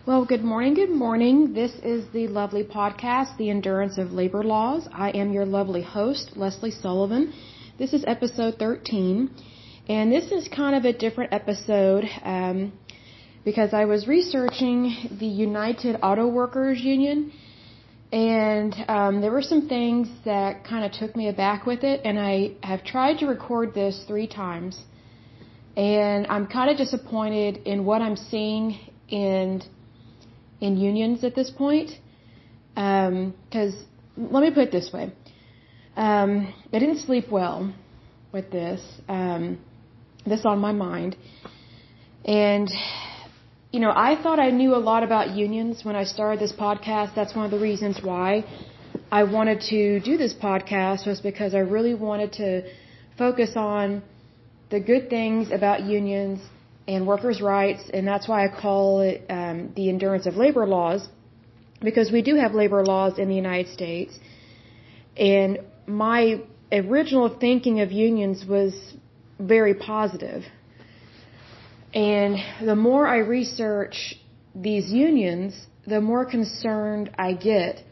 Well, good morning, good morning. This is the lovely podcast, The Endurance of Labor Laws. I am your lovely host, Leslie Sullivan. This is episode 13, and this is kind of a different episode because I was researching the United Auto Workers Union, and there were some things that kind of took me aback with it, and I have tried to record this 3 times, and I'm kind of disappointed in what I'm seeing in unions at this point, because let me put it this way. I didn't sleep well with this on my mind. And, I thought I knew a lot about unions when I started this podcast. That's one of the reasons why I wanted to do this podcast, was because I really wanted to focus on the good things about unions and workers' rights, and that's why I call it the endurance of labor laws, because we do have labor laws in the United States. And my original thinking of unions was very positive. And the more I research these unions, the more concerned I get.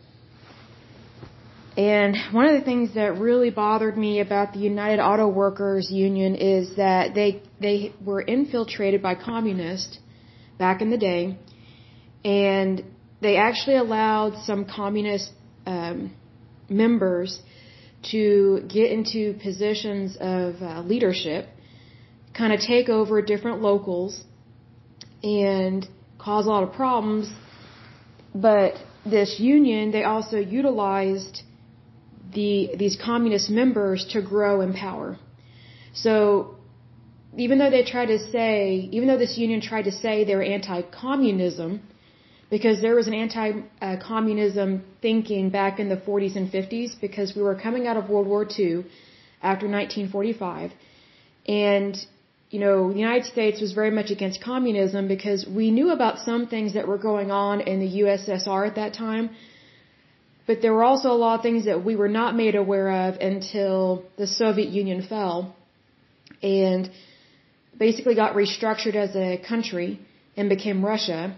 And one of the things that really bothered me about the United Auto Workers Union is that they were infiltrated by communists back in the day, and they actually allowed some communist members to get into positions of leadership, kind of take over different locals, and cause a lot of problems. But this union, they also utilized these communist members to grow in power. So even though this union tried to say they were anti-communism, because there was an anti-communism thinking back in the 40s and 50s, because we were coming out of World War II after 1945, and the United States was very much against communism because we knew about some things that were going on in the USSR at that time. But there were also a lot of things that we were not made aware of until the Soviet Union fell and basically got restructured as a country and became Russia.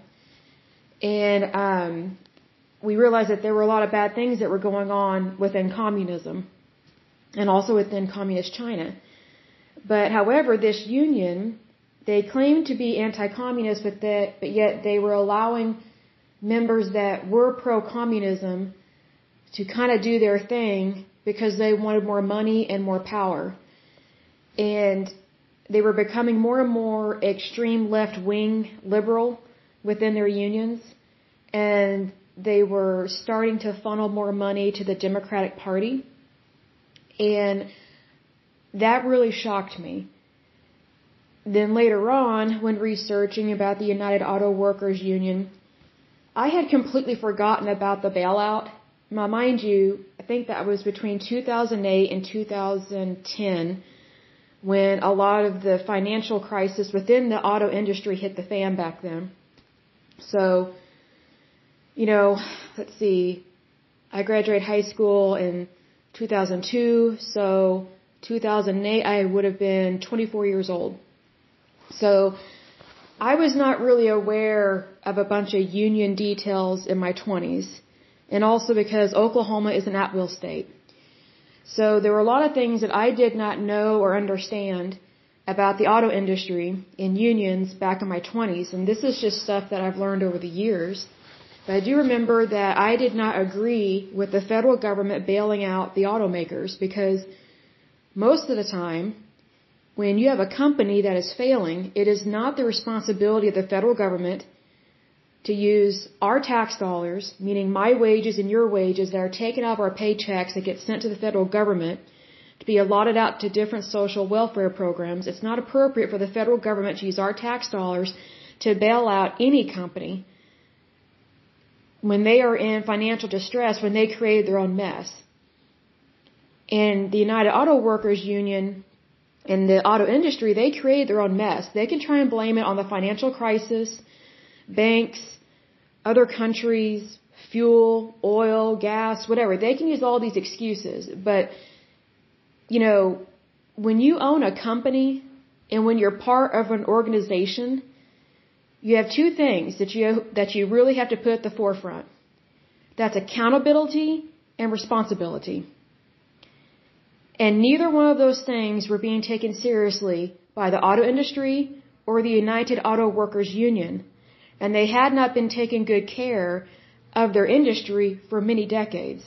And we realized that there were a lot of bad things that were going on within communism and also within communist China. But however, this union, they claimed to be anti-communist, but yet they were allowing members that were pro-communism to kind of do their thing because they wanted more money and more power. And they were becoming more and more extreme left-wing liberal within their unions. And they were starting to funnel more money to the Democratic Party. And that really shocked me. Then later on, when researching about the United Auto Workers Union, I had completely forgotten about the bailout. Now, mind you, I think that was between 2008 and 2010 when a lot of the financial crisis within the auto industry hit the fan back then. So, let's see, I graduated high school in 2002, so 2008 I would have been 24 years old. So I was not really aware of a bunch of union details in my 20s. And also because Oklahoma is an at-will state. So there were a lot of things that I did not know or understand about the auto industry in unions back in my 20s. And this is just stuff that I've learned over the years. But I do remember that I did not agree with the federal government bailing out the automakers, because most of the time, when you have a company that is failing, it is not the responsibility of the federal government to use our tax dollars, meaning my wages and your wages that are taken out of our paychecks that get sent to the federal government to be allotted out to different social welfare programs. It's not appropriate for the federal government to use our tax dollars to bail out any company when they are in financial distress, when they created their own mess. And the United Auto Workers Union and the auto industry, they created their own mess. They can try and blame it on the financial crisis, banks, other countries, fuel, oil, gas, whatever. They can use all these excuses. But, when you own a company and when you're part of an organization, you have two things that you really have to put at the forefront. That's accountability and responsibility. And neither one of those things were being taken seriously by the auto industry or the United Auto Workers Union, and they had not been taking good care of their industry for many decades.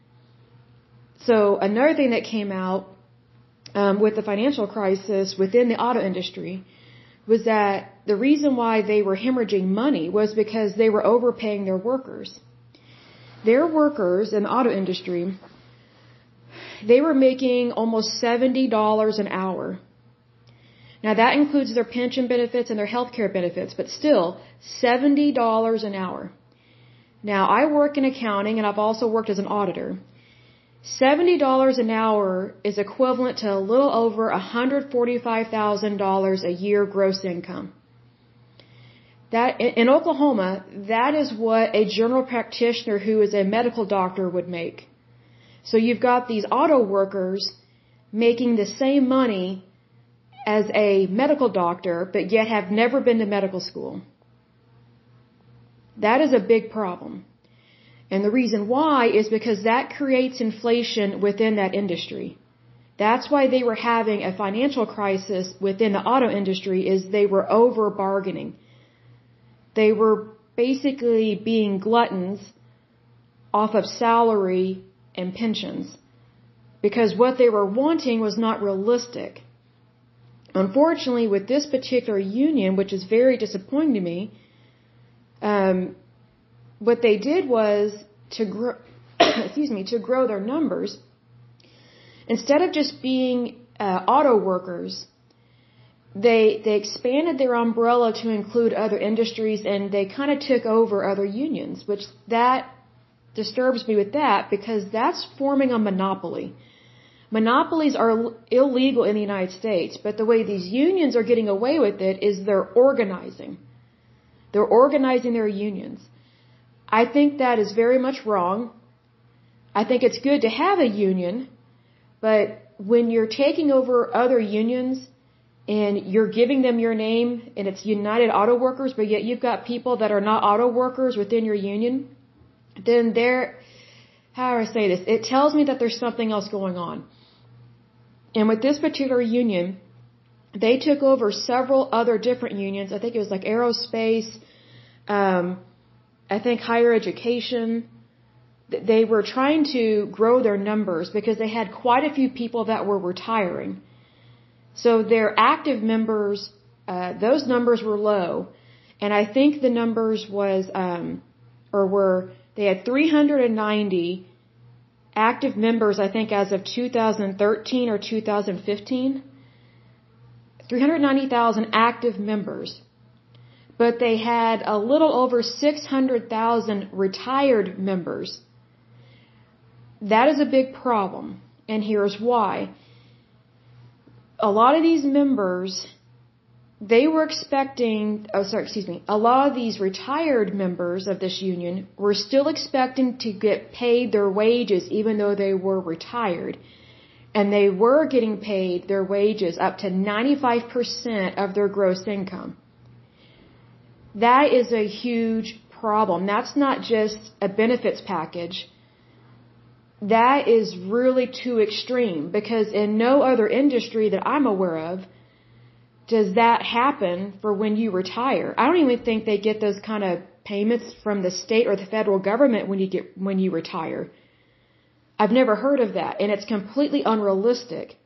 So another thing that came out with the financial crisis within the auto industry was that the reason why they were hemorrhaging money was because they were overpaying their workers. Their workers in the auto industry, they were making almost $70 an hour. Now that includes their pension benefits and their health care benefits, but still $70 an hour. Now I work in accounting and I've also worked as an auditor. $70 an hour is equivalent to a little over $145,000 a year gross income. That in Oklahoma, that is what a general practitioner who is a medical doctor would make. So you've got these auto workers making the same money as a medical doctor, but yet have never been to medical school. That is a big problem. And the reason why is because that creates inflation within that industry. That's why they were having a financial crisis within the auto industry, is they were over bargaining. They were basically being gluttons off of salary and pensions because what they were wanting was not realistic. Unfortunately, with this particular union, which is very disappointing to me, what they did was to grow, to grow their numbers. Instead of just being auto workers, they expanded their umbrella to include other industries, and they kind of took over other unions, which that disturbs me with that because that's forming a monopoly. Monopolies are illegal in the United States, but the way these unions are getting away with it is they're organizing. They're organizing their unions. I think that is very much wrong. I think it's good to have a union, but when you're taking over other unions and you're giving them your name and it's United Auto Workers, but yet you've got people that are not auto workers within your union, then how do I say this? It tells me that there's something else going on. And with this particular union, they took over several other different unions. I think it was like aerospace, I think higher education. They were trying to grow their numbers because they had quite a few people that were retiring. So their active members, those numbers were low. And I think the numbers they had 390 active members, I think, as of 2013 or 2015. 390,000 active members. But they had a little over 600,000 retired members. That is a big problem. And here's why. A lot of these members, they were expecting, a lot of these retired members of this union were still expecting to get paid their wages even though they were retired. And they were getting paid their wages up to 95% of their gross income. That is a huge problem. That's not just a benefits package. That is really too extreme because in no other industry that I'm aware of does that happen for when you retire. I don't even think they get those kind of payments from the state or the federal government when you retire. I've never heard of that, and it's completely unrealistic.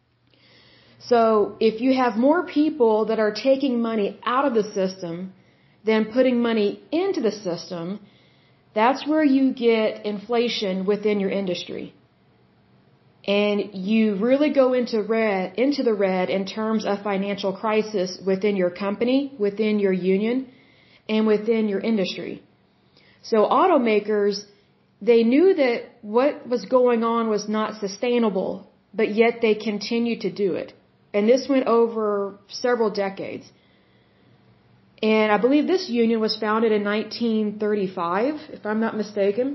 So if you have more people that are taking money out of the system than putting money into the system, that's where you get inflation within your industry. And you really go into the red in terms of financial crisis within your company, within your union, and within your industry. So automakers, they knew that what was going on was not sustainable, but yet they continued to do it. And this went over several decades. And I believe this union was founded in 1935, if I'm not mistaken.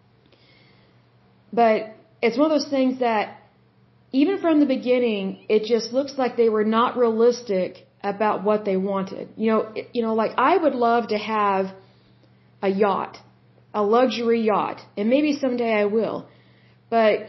But it's one of those things that even from the beginning, it just looks like they were not realistic about what they wanted. Like I would love to have a yacht, a luxury yacht, and maybe someday I will. But,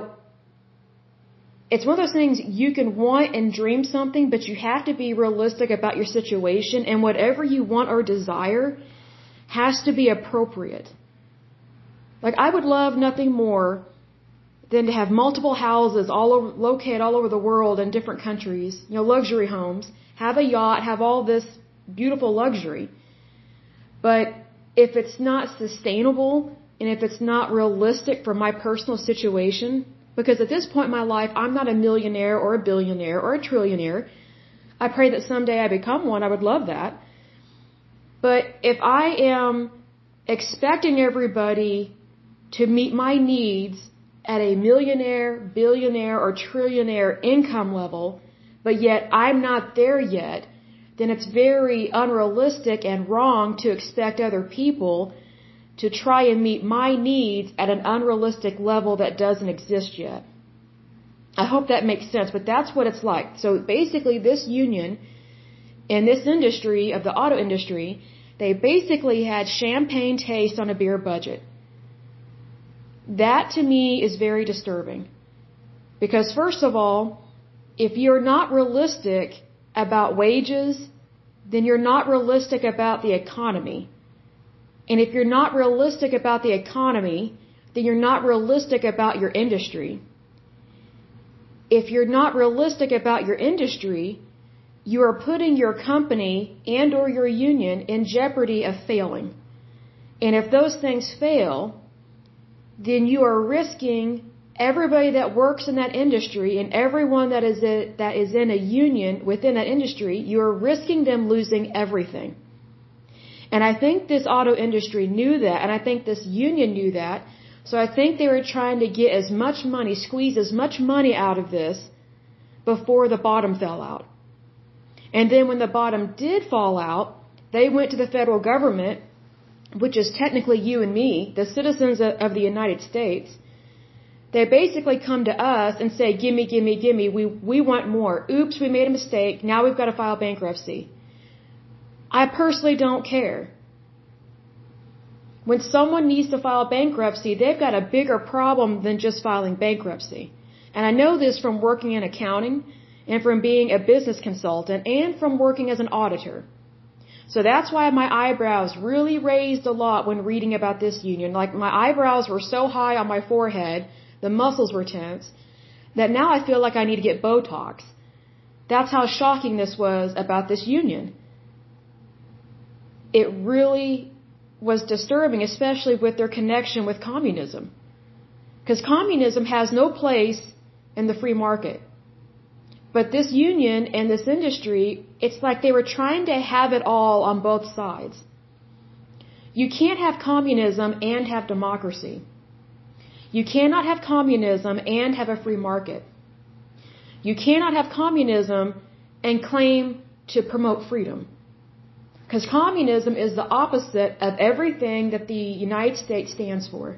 it's one of those things you can want and dream something, but you have to be realistic about your situation, and whatever you want or desire has to be appropriate. Like I would love nothing more than to have multiple houses located all over the world in different countries, luxury homes, have a yacht, have all this beautiful luxury. But if it's not sustainable and if it's not realistic for my personal situation, because at this point in my life, I'm not a millionaire or a billionaire or a trillionaire. I pray that someday I become one. I would love that. But if I am expecting everybody to meet my needs at a millionaire, billionaire, or trillionaire income level, but yet I'm not there yet, then it's very unrealistic and wrong to expect other people to try and meet my needs at an unrealistic level that doesn't exist yet. I hope that makes sense, but that's what it's like. So basically this union in this industry of the auto industry, they basically had champagne taste on a beer budget. That to me is very disturbing. Because first of all, if you're not realistic about wages, then you're not realistic about the economy. And if you're not realistic about the economy, then you're not realistic about your industry. If you're not realistic about your industry, you are putting your company and or your union in jeopardy of failing. And if those things fail, then you are risking everybody that works in that industry and everyone that is in a union within that industry, you are risking them losing everything. And I think this auto industry knew that, and I think this union knew that, so I think they were trying to get as much money, squeeze as much money out of this before the bottom fell out. And then when the bottom did fall out, they went to the federal government, which is technically you and me, the citizens of the United States. They basically come to us and say, gimme, gimme, gimme, we want more. Oops, we made a mistake, now we've got to file bankruptcy. I personally don't care. When someone needs to file bankruptcy, they've got a bigger problem than just filing bankruptcy. And I know this from working in accounting and from being a business consultant and from working as an auditor. So that's why my eyebrows really raised a lot when reading about this union. Like my eyebrows were so high on my forehead, the muscles were tense, that now I feel like I need to get Botox. That's how shocking this was about this union. It really was disturbing, especially with their connection with communism. Because communism has no place in the free market. But this union and this industry, it's like they were trying to have it all on both sides. You can't have communism and have democracy. You cannot have communism and have a free market. You cannot have communism and claim to promote freedom. Because communism is the opposite of everything that the United States stands for.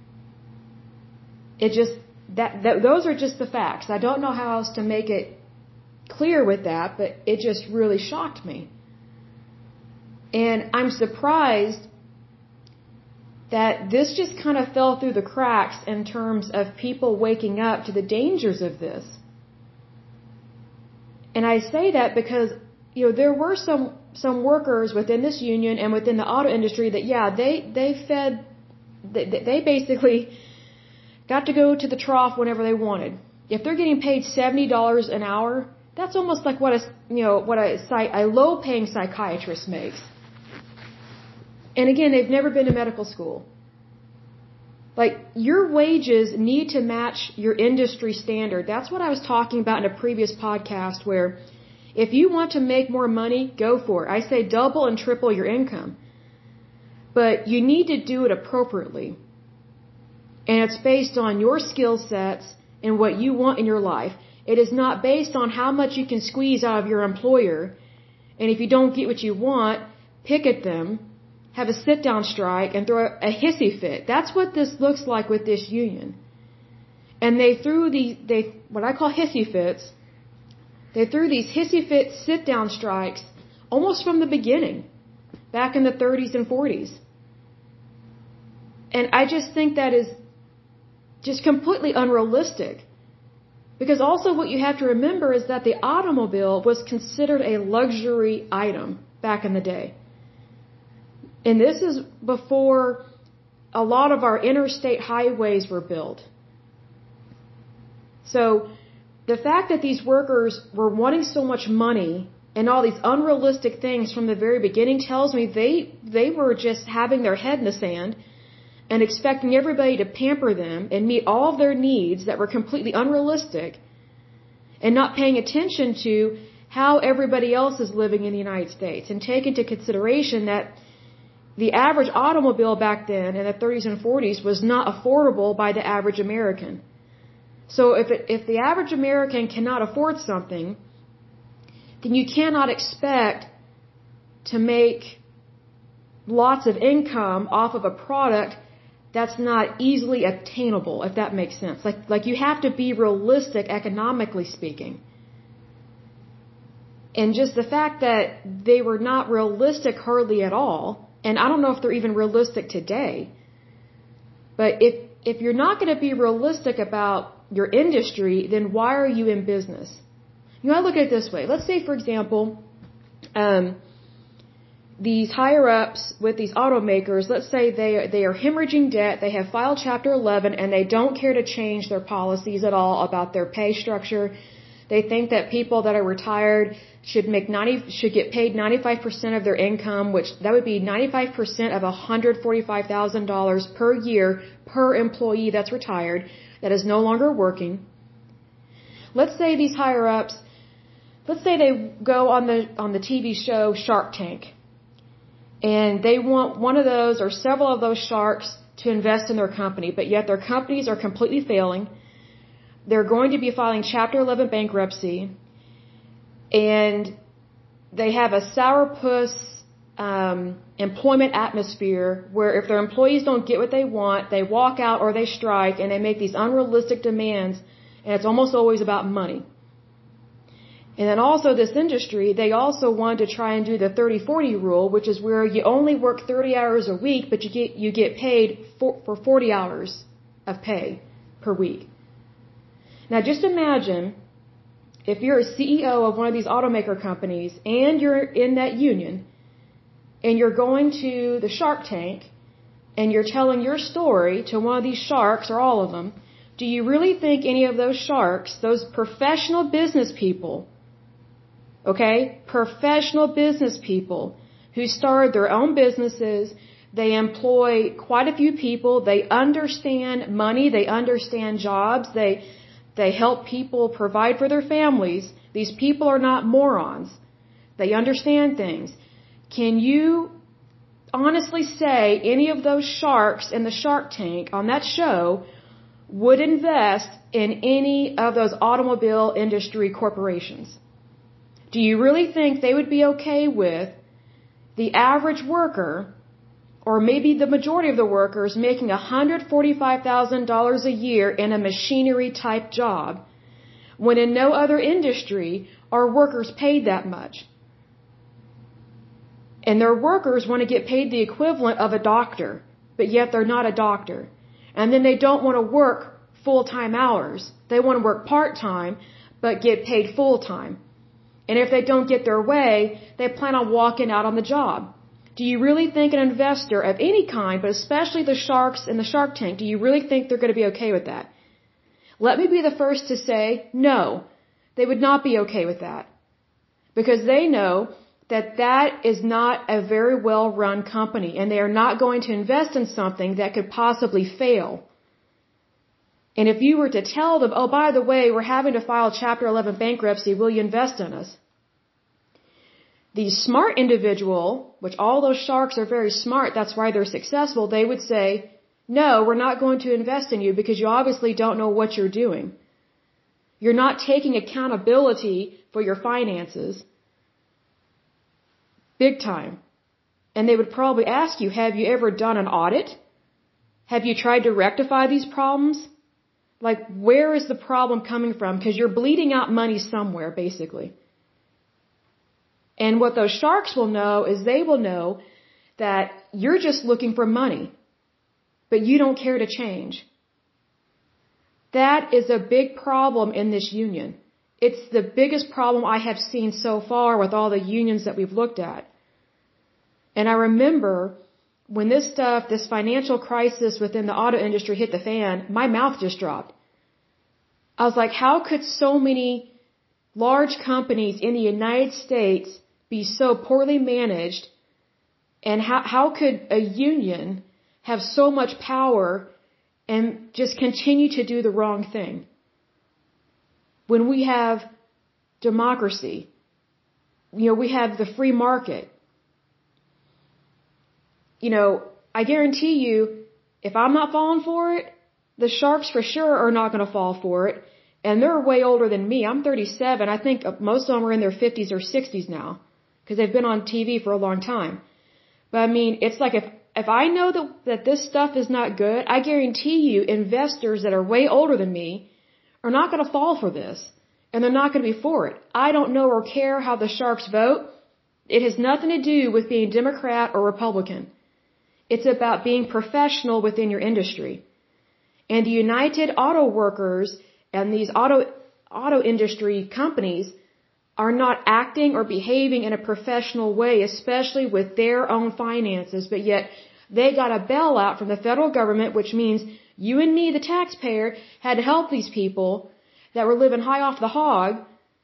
Those are just the facts. I don't know how else to make it clear with that, but it just really shocked me. And I'm surprised that this just kind of fell through the cracks in terms of people waking up to the dangers of this. And I say that because, there were some workers within this union and within the auto industry that, they basically got to go to the trough whenever they wanted. If they're getting paid $70 an hour, that's almost like what a low-paying psychiatrist makes. And again, they've never been to medical school. Like, your wages need to match your industry standard. That's what I was talking about in a previous podcast, where if you want to make more money, go for it. I say double and triple your income. But you need to do it appropriately. And it's based on your skill sets and what you want in your life. It is not based on how much you can squeeze out of your employer. And if you don't get what you want, picket them, have a sit-down strike, and throw a hissy fit. That's what this looks like with this union. And they threw what I call hissy fits. They threw these hissy fit sit down strikes almost from the beginning, back in the 30s and 40s. And I just think that is just completely unrealistic. Because also what you have to remember is that the automobile was considered a luxury item back in the day. And this is before a lot of our interstate highways were built. So the fact that these workers were wanting so much money and all these unrealistic things from the very beginning tells me they were just having their head in the sand and expecting everybody to pamper them and meet all of their needs that were completely unrealistic, and not paying attention to how everybody else is living in the United States, and take into consideration that the average automobile back then in the 30s and 40s was not affordable by the average American. So if the average American cannot afford something, then you cannot expect to make lots of income off of a product that's not easily attainable, if that makes sense. Like you have to be realistic economically speaking. And just the fact that they were not realistic hardly at all, and I don't know if they're even realistic today, but if you're not going to be realistic about your industry, then why are you in business? You know, I look at it this way. Let's say, for example, these higher-ups with these automakers, let's say they are hemorrhaging debt, they have filed Chapter 11, and they don't care to change their policies at all about their pay structure. They think that people that are retired should get paid 95% of their income, which that would be 95% of $145,000 per year per employee that's retired, that is no longer working. Let's say these higher-ups, let's say they go on the TV show Shark Tank. And they want one of those or several of those sharks to invest in their company, but yet their companies are completely failing. They're going to be filing Chapter 11 bankruptcy, and they have a sourpuss employment atmosphere where if their employees don't get what they want, they walk out or they strike, and they make these unrealistic demands, and it's almost always about money. And then also this industry, they also wanted to try and do the 30-40 rule, which is where you only work 30 hours a week, but you get paid for 40 hours of pay per week. Now just imagine if you're a CEO of one of these automaker companies and you're in that union and you're going to the Shark Tank and you're telling your story to one of these sharks or all of them, do you really think any of those sharks, those professional business people, okay, professional business people who started their own businesses, they employ quite a few people, they understand money, they understand jobs, they help people provide for their families. These people are not morons. They understand things. Can you honestly say any of those sharks in the Shark Tank on that show would invest in any of those automobile industry corporations? Do you really think they would be okay with the average worker, or maybe the majority of the workers, making $145,000 a year in a machinery-type job, when in no other industry are workers paid that much? And their workers want to get paid the equivalent of a doctor, but yet they're not a doctor. And then they don't want to work full-time hours. They want to work part-time, but get paid full-time. And if they don't get their way, they plan on walking out on the job. Do you really think an investor of any kind, but especially the sharks in the Shark Tank, do you really think they're going to be okay with that? Let me be the first to say, no, they would not be okay with that. Because they know that that is not a very well-run company, and they are not going to invest in something that could possibly fail. And if you were to tell them, oh, by the way, we're having to file Chapter 11 bankruptcy, will you invest in us? The smart individual, which all those sharks are very smart, that's why they're successful, they would say, no, we're not going to invest in you because you obviously don't know what you're doing. You're not taking accountability for your finances. Big time. And they would probably ask you, have you ever done an audit? Have you tried to rectify these problems? Like, where is the problem coming from? Because you're bleeding out money somewhere, basically. And what those sharks will know is they will know that you're just looking for money, but you don't care to change. That is a big problem in this union. It's the biggest problem I have seen so far with all the unions that we've looked at. And I remember when this financial crisis within the auto industry hit the fan, my mouth just dropped. I was like, how could so many large companies in the United States be so poorly managed? And how could a union have so much power and just continue to do the wrong thing? When we have democracy, we have the free market. I guarantee you, if I'm not falling for it, the sharks for sure are not going to fall for it. And they're way older than me. I'm 37. I think most of them are in their 50s or 60s now, because they've been on TV for a long time. But I mean, it's like if I know that this stuff is not good, I guarantee you investors that are way older than me are not going to fall for this. And they're not going to be for it. I don't know or care how the sharks vote. It has nothing to do with being Democrat or Republican. It's about being professional within your industry. And the United Auto Workers and these auto industry companies are not acting or behaving in a professional way, especially with their own finances, but yet they got a bailout from the federal government, which means you and me, the taxpayer, had to help these people that were living high off the hog.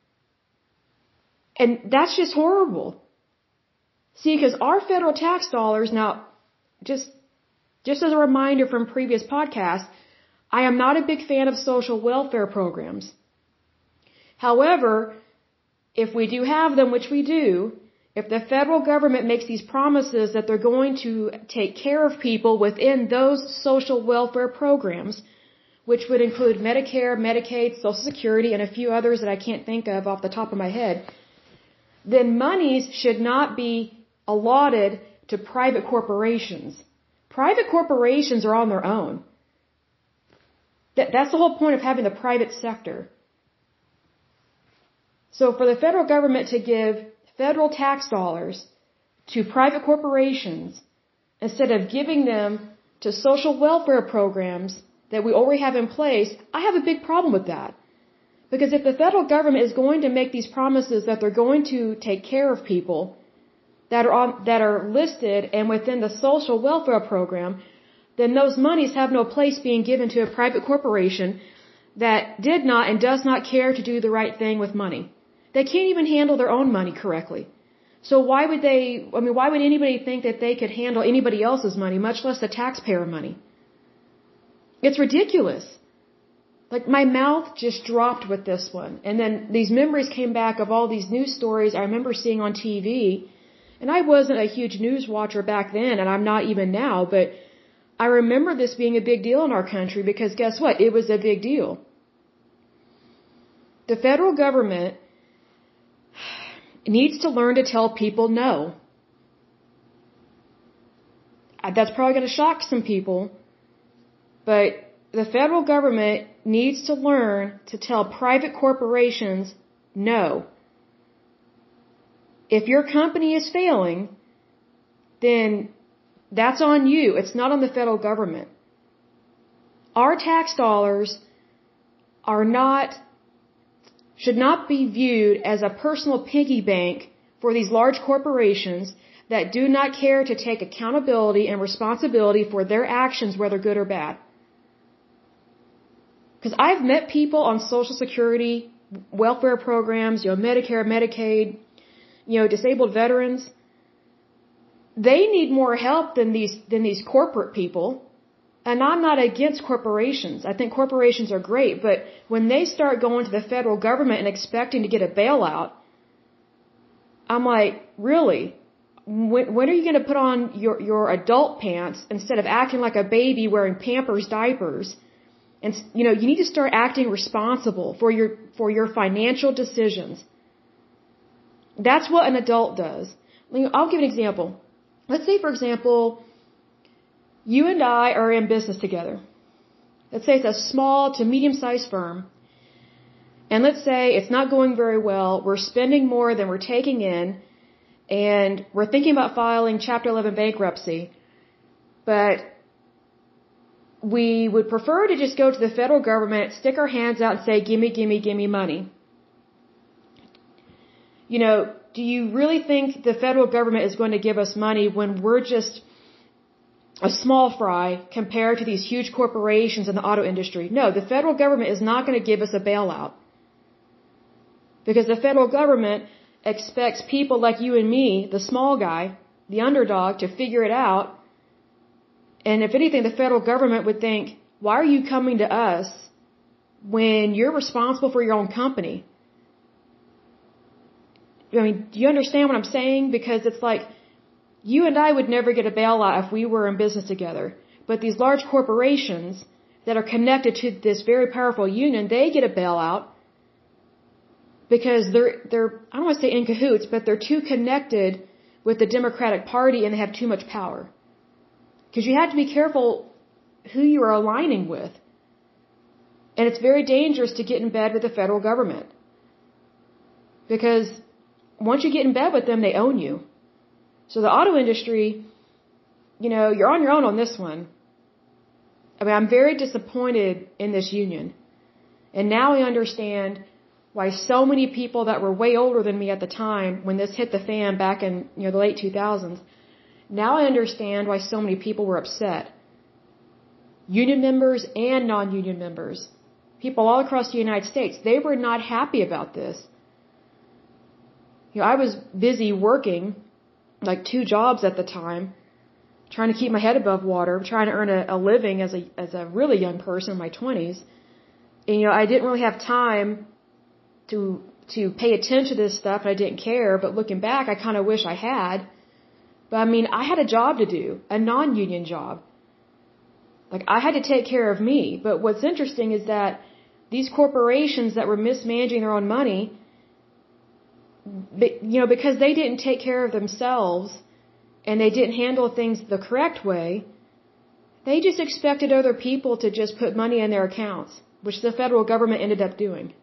And that's just horrible. See, because our federal tax dollars, now, just as a reminder from previous podcasts, I am not a big fan of social welfare programs. However, if we do have them, which we do, if the federal government makes these promises that they're going to take care of people within those social welfare programs, which would include Medicare, Medicaid, Social Security, and a few others that I can't think of off the top of my head, then monies should not be allotted to private corporations. Private corporations are on their own. That's the whole point of having the private sector. So for the federal government to give federal tax dollars to private corporations instead of giving them to social welfare programs that we already have in place, I have a big problem with that. Because if the federal government is going to make these promises that they're going to take care of people that are listed and within the social welfare program, then those monies have no place being given to a private corporation that did not and does not care to do the right thing with money. They can't even handle their own money correctly. So why would anybody think that they could handle anybody else's money, much less the taxpayer money? It's ridiculous. Like, my mouth just dropped with this one. And then these memories came back of all these news stories I remember seeing on TV. And I wasn't a huge news watcher back then, and I'm not even now, but I remember this being a big deal in our country because guess what? It was a big deal. The federal government needs to learn to tell people no. That's probably going to shock some people, but the federal government needs to learn to tell private corporations no. If your company is failing, then that's on you. It's not on the federal government. Our tax dollars should not be viewed as a personal piggy bank for these large corporations that do not care to take accountability and responsibility for their actions, whether good or bad. Because I've met people on Social Security, welfare programs, Medicare, Medicaid, disabled veterans. They need more help than these corporate people. And I'm not against corporations. I think corporations are great, but when they start going to the federal government and expecting to get a bailout, I'm like, really? When are you going to put on your adult pants instead of acting like a baby wearing Pampers diapers? And you need to start acting responsible for your financial decisions. That's what an adult does. I'll give an example. Let's say, for example, you and I are in business together. let's say it's a small to medium-sized firm, and let's say it's not going very well, we're spending more than we're taking in, and we're thinking about filing Chapter 11 bankruptcy, but we would prefer to just go to the federal government, stick our hands out and say, give me money. You know, do you really think the federal government is going to give us money when we're just a small fry compared to these huge corporations in the auto industry? No, the federal government is not going to give us a bailout. Because the federal government expects people like you and me, the small guy, the underdog, to figure it out. And if anything, the federal government would think, why are you coming to us when you're responsible for your own company? I mean, do you understand what I'm saying? Because it's like, you and I would never get a bailout if we were in business together. But these large corporations that are connected to this very powerful union, they get a bailout because they're I don't want to say in cahoots, but they're too connected with the Democratic Party and they have too much power. Because you have to be careful who you are aligning with. And it's very dangerous to get in bed with the federal government. Because once you get in bed with them, they own you. So the auto industry, you know, you're on your own on this one. I mean, I'm very disappointed in this union. And now I understand why so many people that were way older than me at the time, when this hit the fan back in, you know, the late 2000s, now I understand why so many people were upset. Union members and non-union members, people all across the United States, they were not happy about this. You know, I was busy working, like 2 jobs at the time, trying to keep my head above water, trying to earn a living as a really young person in my 20s. And, you know, I didn't really have time to pay attention to this stuff, and I didn't care. But looking back, I kind of wish I had. But I mean, I had a job to do, a non-union job. Like, I had to take care of me. But what's interesting is that these corporations that were mismanaging their own money, you know, because they didn't take care of themselves and they didn't handle things the correct way, they just expected other people to just put money in their accounts, which the federal government ended up doing.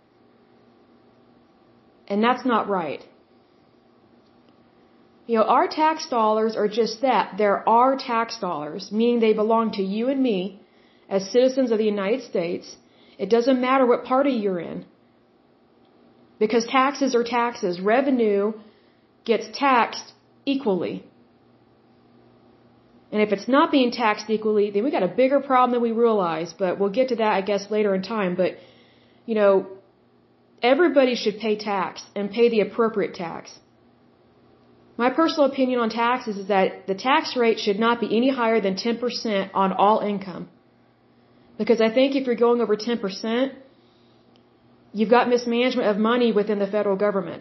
And that's not right. You know, our tax dollars are just that. They're our tax dollars, meaning they belong to you and me as citizens of the United States. It doesn't matter what party you're in. Because taxes are taxes. Revenue gets taxed equally. And if it's not being taxed equally, then we got a bigger problem than we realize. But we'll get to that, I guess, later in time. But, you know, everybody should pay tax and pay the appropriate tax. My personal opinion on taxes is that the tax rate should not be any higher than 10% on all income. Because I think if you're going over 10%, you've got mismanagement of money within the federal government.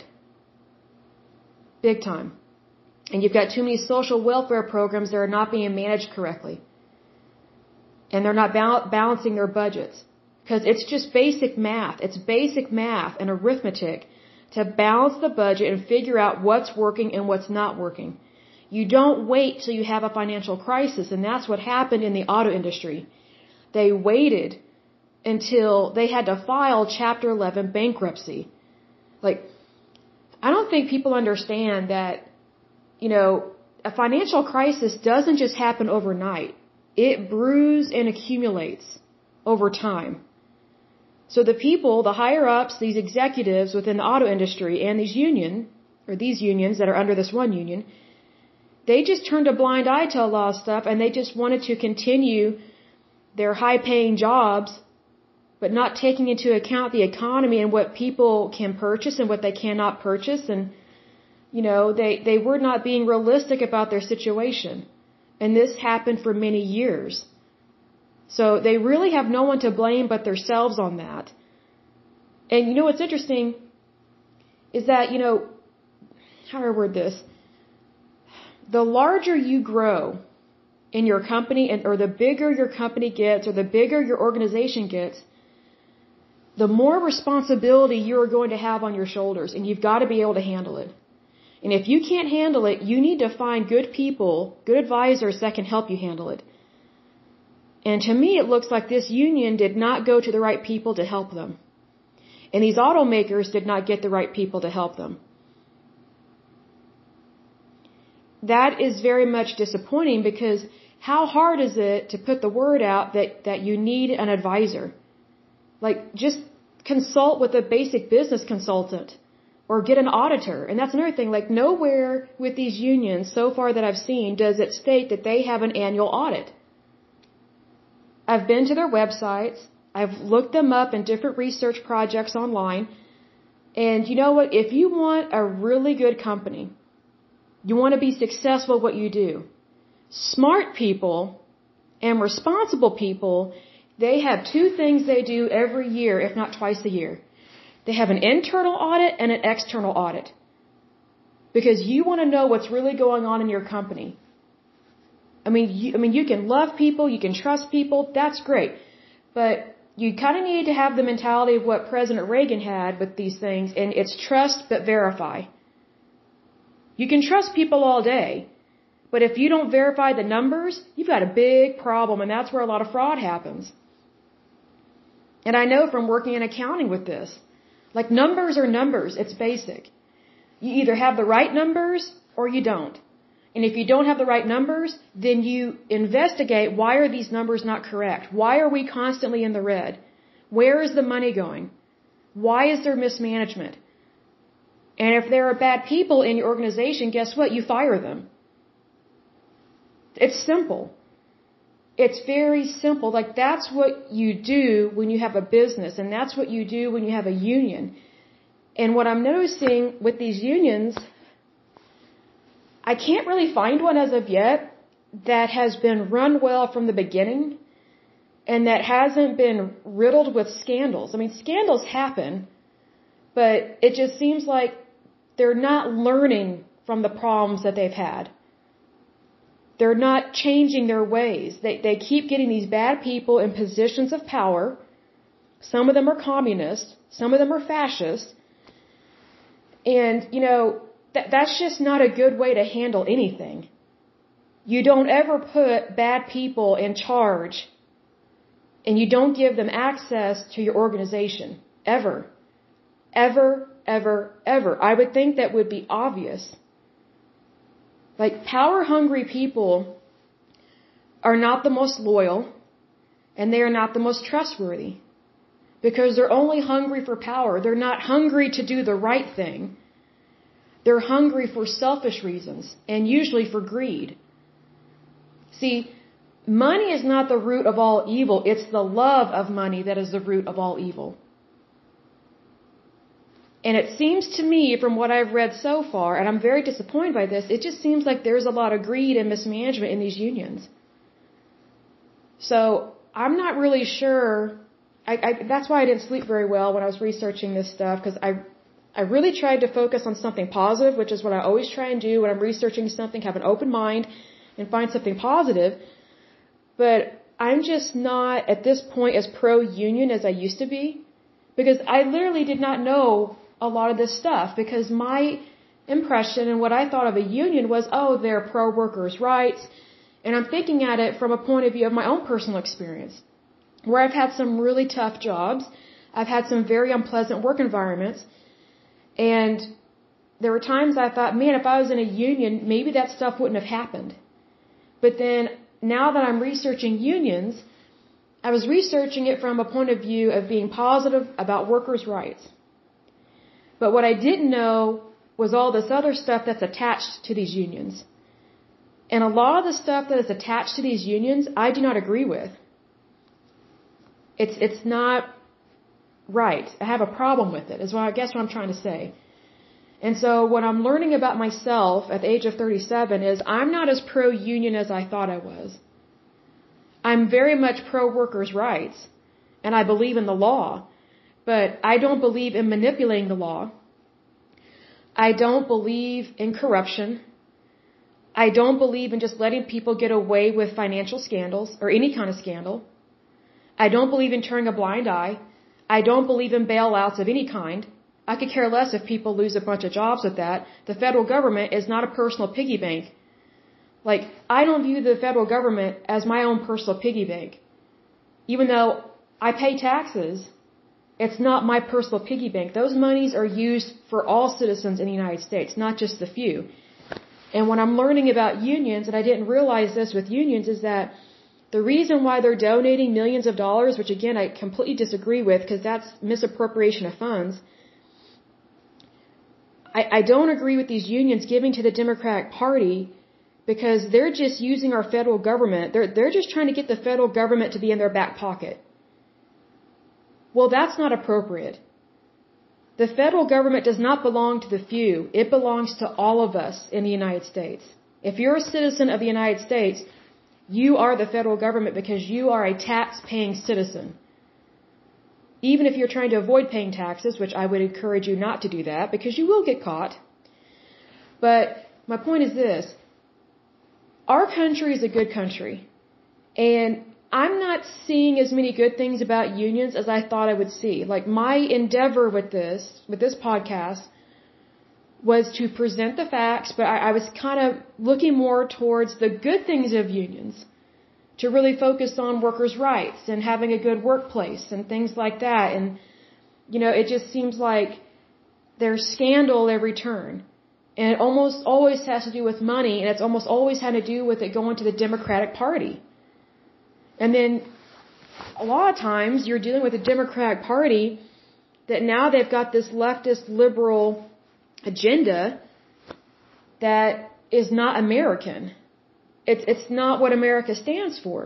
Big time. And you've got too many social welfare programs that are not being managed correctly. And they're not balancing their budgets. Because it's just basic math. It's basic math and arithmetic to balance the budget and figure out what's working and what's not working. You don't wait till you have a financial crisis, and that's what happened in the auto industry. They waited until they had to file Chapter 11 bankruptcy. Like, I don't think people understand that, you know, a financial crisis doesn't just happen overnight. It brews and accumulates over time. So the people, the higher ups, these executives within the auto industry and these unions that are under this one union, they just turned a blind eye to a lot of stuff, and they just wanted to continue their high-paying jobs, but not taking into account the economy and what people can purchase and what they cannot purchase. And, you know, they were not being realistic about their situation. And this happened for many years. So they really have no one to blame but themselves on that. And you know what's interesting is that, you know, how do I word this? The larger you grow in your company, or the bigger your company gets, or the bigger your organization gets, the more responsibility you're going to have on your shoulders, and you've got to be able to handle it. And if you can't handle it, you need to find good people, good advisors that can help you handle it. And to me, it looks like this union did not go to the right people to help them. And these automakers did not get the right people to help them. That is very much disappointing because how hard is it to put the word out that you need an advisor? Like, just consult with a basic business consultant or get an auditor. And that's another thing. Like, nowhere with these unions so far that I've seen does it state that they have an annual audit. I've been to their websites. I've looked them up in different research projects online. And you know what? If you want a really good company, you want to be successful at what you do, smart people and responsible people, they have two things they do every year, if not twice a year. They have an internal audit and an external audit. Because you want to know what's really going on in your company. I mean, you can love people, you can trust people, that's great. But you kind of need to have the mentality of what President Reagan had with these things, and it's trust but verify. You can trust people all day, but if you don't verify the numbers, you've got a big problem, and that's where a lot of fraud happens. And I know from working in accounting with this. Like, numbers are numbers. It's basic. You either have the right numbers or you don't. And if you don't have the right numbers, then you investigate, why are these numbers not correct? Why are we constantly in the red? Where is the money going? Why is there mismanagement? And if there are bad people in your organization, guess what? You fire them. It's simple. It's very simple. Like, that's what you do when you have a business, and that's what you do when you have a union. And what I'm noticing with these unions, I can't really find one as of yet that has been run well from the beginning and that hasn't been riddled with scandals. I mean, scandals happen, but it just seems like they're not learning from the problems that they've had. They're not changing their ways. They keep getting these bad people in positions of power. Some of them are communists. Some of them are fascists. And, you know, that's just not a good way to handle anything. You don't ever put bad people in charge, and you don't give them access to your organization. Ever. Ever, ever, ever. I would think that would be obvious. Like, power-hungry people are not the most loyal, and they are not the most trustworthy. Because they're only hungry for power. They're not hungry to do the right thing. They're hungry for selfish reasons, and usually for greed. See, money is not the root of all evil. It's the love of money that is the root of all evil. And it seems to me, from what I've read so far, and I'm very disappointed by this, it just seems like there's a lot of greed and mismanagement in these unions. So, I'm not really sure. That's why I didn't sleep very well when I was researching this stuff, because I really tried to focus on something positive, which is what I always try and do when I'm researching something, have an open mind and find something positive. But I'm just not, at this point, as pro-union as I used to be, because I literally did not know a lot of this stuff, because my impression and what I thought of a union was, oh, they're pro-workers' rights, and I'm thinking at it from a point of view of my own personal experience, where I've had some really tough jobs, I've had some very unpleasant work environments, and there were times I thought, man, if I was in a union, maybe that stuff wouldn't have happened. But then, now that I'm researching unions, I was researching it from a point of view of being positive about workers' rights. But what I didn't know was all this other stuff that's attached to these unions. And a lot of the stuff that is attached to these unions, I do not agree with. It's not right. I have a problem with it, is what I guess what I'm trying to say. And so what I'm learning about myself at the age of 37 is I'm not as pro-union as I thought I was. I'm very much pro-workers' rights, and I believe in the law. But I don't believe in manipulating the law. I don't believe in corruption. I don't believe in just letting people get away with financial scandals or any kind of scandal. I don't believe in turning a blind eye. I don't believe in bailouts of any kind. I could care less if people lose a bunch of jobs with that. The federal government is not a personal piggy bank. Like, I don't view the federal government as my own personal piggy bank. even though I pay taxes, it's not my personal piggy bank. Those monies are used for all citizens in the United States, not just the few. And when I'm learning about unions, and I didn't realize this with unions, is that the reason why they're donating millions of dollars, which again I completely disagree with because that's misappropriation of funds, I don't agree with these unions giving to the Democratic Party because they're just using our federal government. They're just trying to get the federal government to be in their back pocket. Well, that's not appropriate. The federal government does not belong to the few. It belongs to all of us in the United States. If you're a citizen of the United States, you are the federal government because you are a tax-paying citizen. Even if you're trying to avoid paying taxes, which I would encourage you not to do that because you will get caught. But my point is this. Our country is a good country. And I'm not seeing as many good things about unions as I thought I would see. Like my endeavor with this podcast was to present the facts, but I was kind of looking more towards the good things of unions, to really focus on workers' rights and having a good workplace and things like that. And, it just seems like there's scandal at every turn. And it almost always has to do with money, and it's almost always had to do with it going to the Democratic Party. And then a lot of times you're dealing with the Democratic Party that now they've got this leftist liberal agenda that is not American. It's not what America stands for.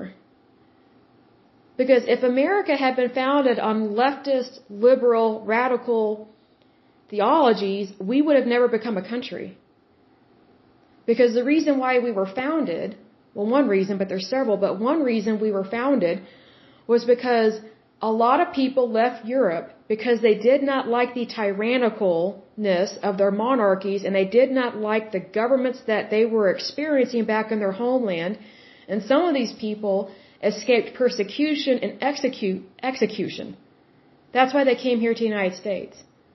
Because if America had been founded on leftist, liberal, radical theologies, we would have never become a country. Because the reason why we were founded, well, one reason, but there's several, but one reason we were founded was because a lot of people left Europe because they did not like the tyrannicalness of their monarchies and they did not like the governments that they were experiencing back in their homeland. And some of these people escaped persecution and execution. That's why they came here to the United States.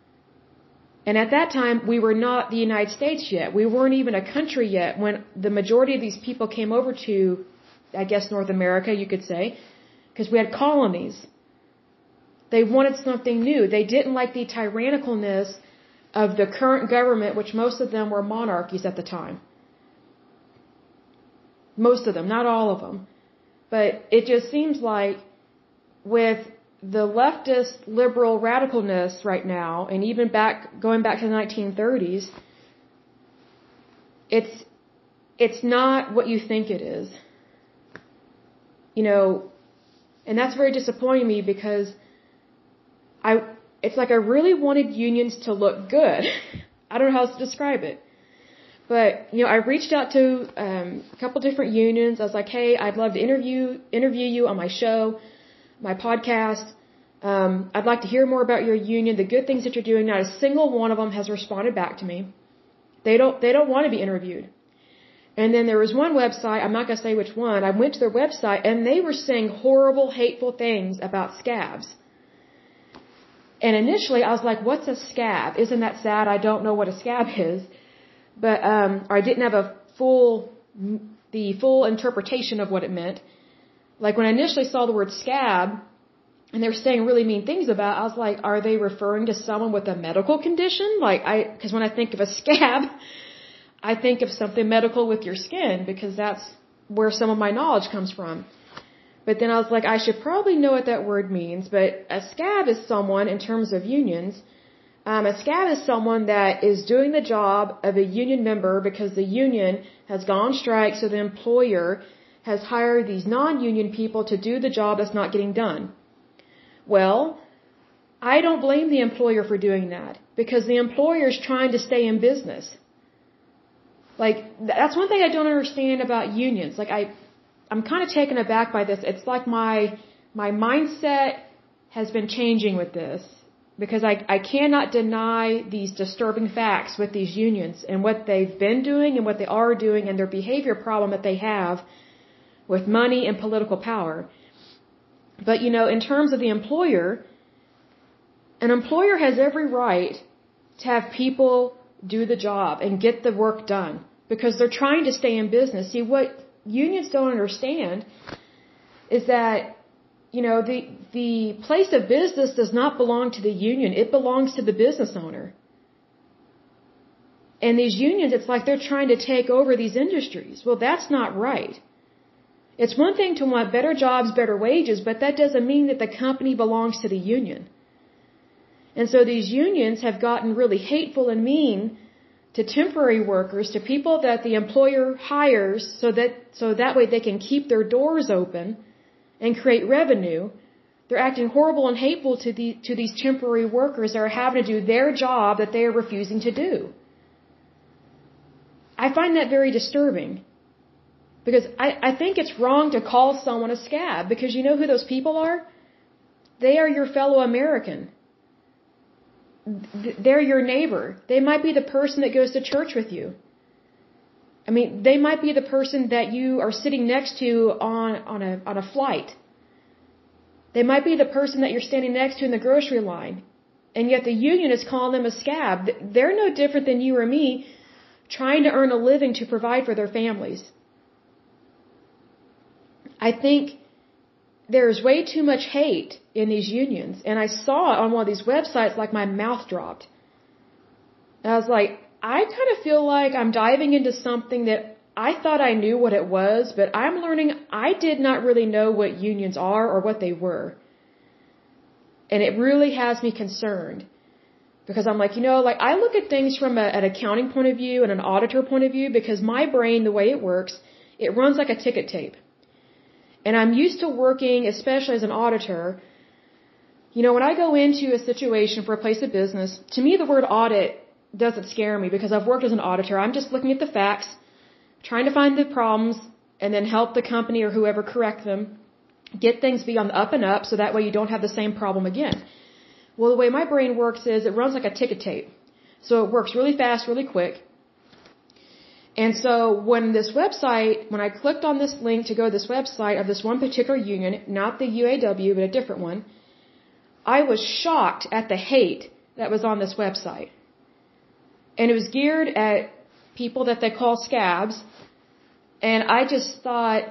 And at that time, we were not the United States yet. We weren't even a country yet when the majority of these people came over to, I guess, North America, you could say, because we had colonies. They wanted something new. They didn't like the tyrannicalness of the current government, which most of them were monarchies at the time. Most of them, not all of them. But it just seems like with the leftist liberal radicalness right now, and even going back to the 1930s, it's not what you think it is. And that's very disappointing me because it's like I really wanted unions to look good. I don't know how else to describe it. But, I reached out to a couple different unions. I was like, hey, I'd love to interview you on my show, my podcast. I'd like to hear more about your union, the good things that you're doing. Not a single one of them has responded back to me. They don't want to be interviewed. And then there was one website, I'm not going to say which one, I went to their website and they were saying horrible, hateful things about scabs. And initially I was like, what's a scab? Isn't that sad? I don't know what a scab is. But, or I didn't have the full interpretation of what it meant. Like when I initially saw the word scab, and they were saying really mean things about it, I was like, are they referring to someone with a medical condition? Because when I think of a scab, I think of something medical with your skin, because that's where some of my knowledge comes from. But then I was like, I should probably know what that word means. But a scab is someone, in terms of unions, a scab is someone that is doing the job of a union member because the union has gone on strike, so the employer has hired these non-union people to do the job that's not getting done. Well, I don't blame the employer for doing that because the employer is trying to stay in business. Like, that's one thing I don't understand about unions. Like, I'm kind of taken aback by this. It's like my mindset has been changing with this because I cannot deny these disturbing facts with these unions and what they've been doing and what they are doing and their behavior problem that they have with money and political power. But, in terms of the employer, an employer has every right to have people do the job and get the work done because they're trying to stay in business. See, what unions don't understand is that the place of business does not belong to the union. It belongs to the business owner. And these unions, it's like they're trying to take over these industries. Well, that's not right. It's one thing to want better jobs, better wages, but that doesn't mean that the company belongs to the union. And so these unions have gotten really hateful and mean to temporary workers, to people that the employer hires so that way they can keep their doors open and create revenue. They're acting horrible and hateful to these temporary workers that are having to do their job that they are refusing to do. I find that very disturbing. Because I think it's wrong to call someone a scab, because you know who those people are? They are your fellow American. They're your neighbor. They might be the person that goes to church with you. I mean, they might be the person that you are sitting next to on a flight. They might be the person that you're standing next to in the grocery line. And yet the union is calling them a scab. They're no different than you or me trying to earn a living to provide for their families. I think there's way too much hate in these unions. And I saw it on one of these websites, like my mouth dropped. And I was like, I kind of feel like I'm diving into something that I thought I knew what it was, but I'm learning I did not really know what unions are or what they were. And it really has me concerned. Because I'm like, I look at things from an accounting point of view and an auditor point of view, because my brain, the way it works, it runs like a ticket tape. And I'm used to working, especially as an auditor. When I go into a situation for a place of business, to me the word audit doesn't scare me, because I've worked as an auditor. I'm just looking at the facts, trying to find the problems, and then help the company or whoever correct them, get things be on the up and up, so that way you don't have the same problem again. Well, the way my brain works is it runs like a ticket tape. So it works really fast, really quick. And so when I clicked on this link to go to this website of this one particular union, not the UAW, but a different one, I was shocked at the hate that was on this website. And it was geared at people that they call scabs. And I just thought,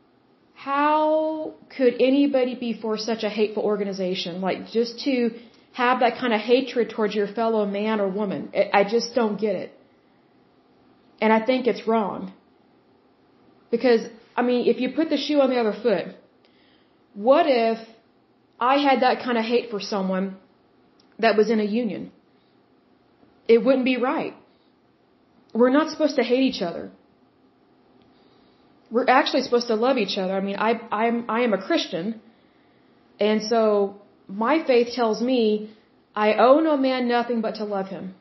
how could anybody be for such a hateful organization? Like, just to have that kind of hatred towards your fellow man or woman. I just don't get it. And I think it's wrong. Because, if you put the shoe on the other foot, what if I had that kind of hate for someone that was in a union? It wouldn't be right. We're not supposed to hate each other. We're actually supposed to love each other. I am a Christian, and so my faith tells me I owe no man nothing but to love him.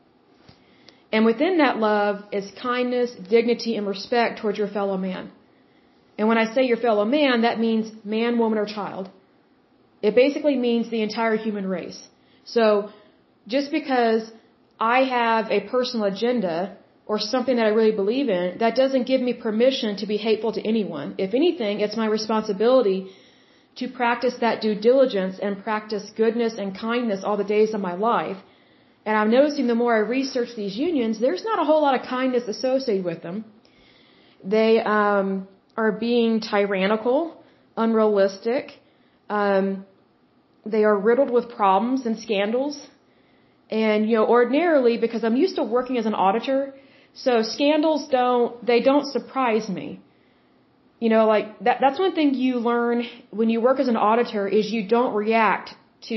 And within that love is kindness, dignity, and respect towards your fellow man. And when I say your fellow man, that means man, woman, or child. It basically means the entire human race. So just because I have a personal agenda or something that I really believe in, that doesn't give me permission to be hateful to anyone. If anything, it's my responsibility to practice that due diligence and practice goodness and kindness all the days of my life. And I'm noticing the more I research these unions, there's not a whole lot of kindness associated with them. They are being tyrannical, unrealistic. They are riddled with problems and scandals. And, ordinarily, because I'm used to working as an auditor, so scandals don't surprise me. That's one thing you learn when you work as an auditor is you don't react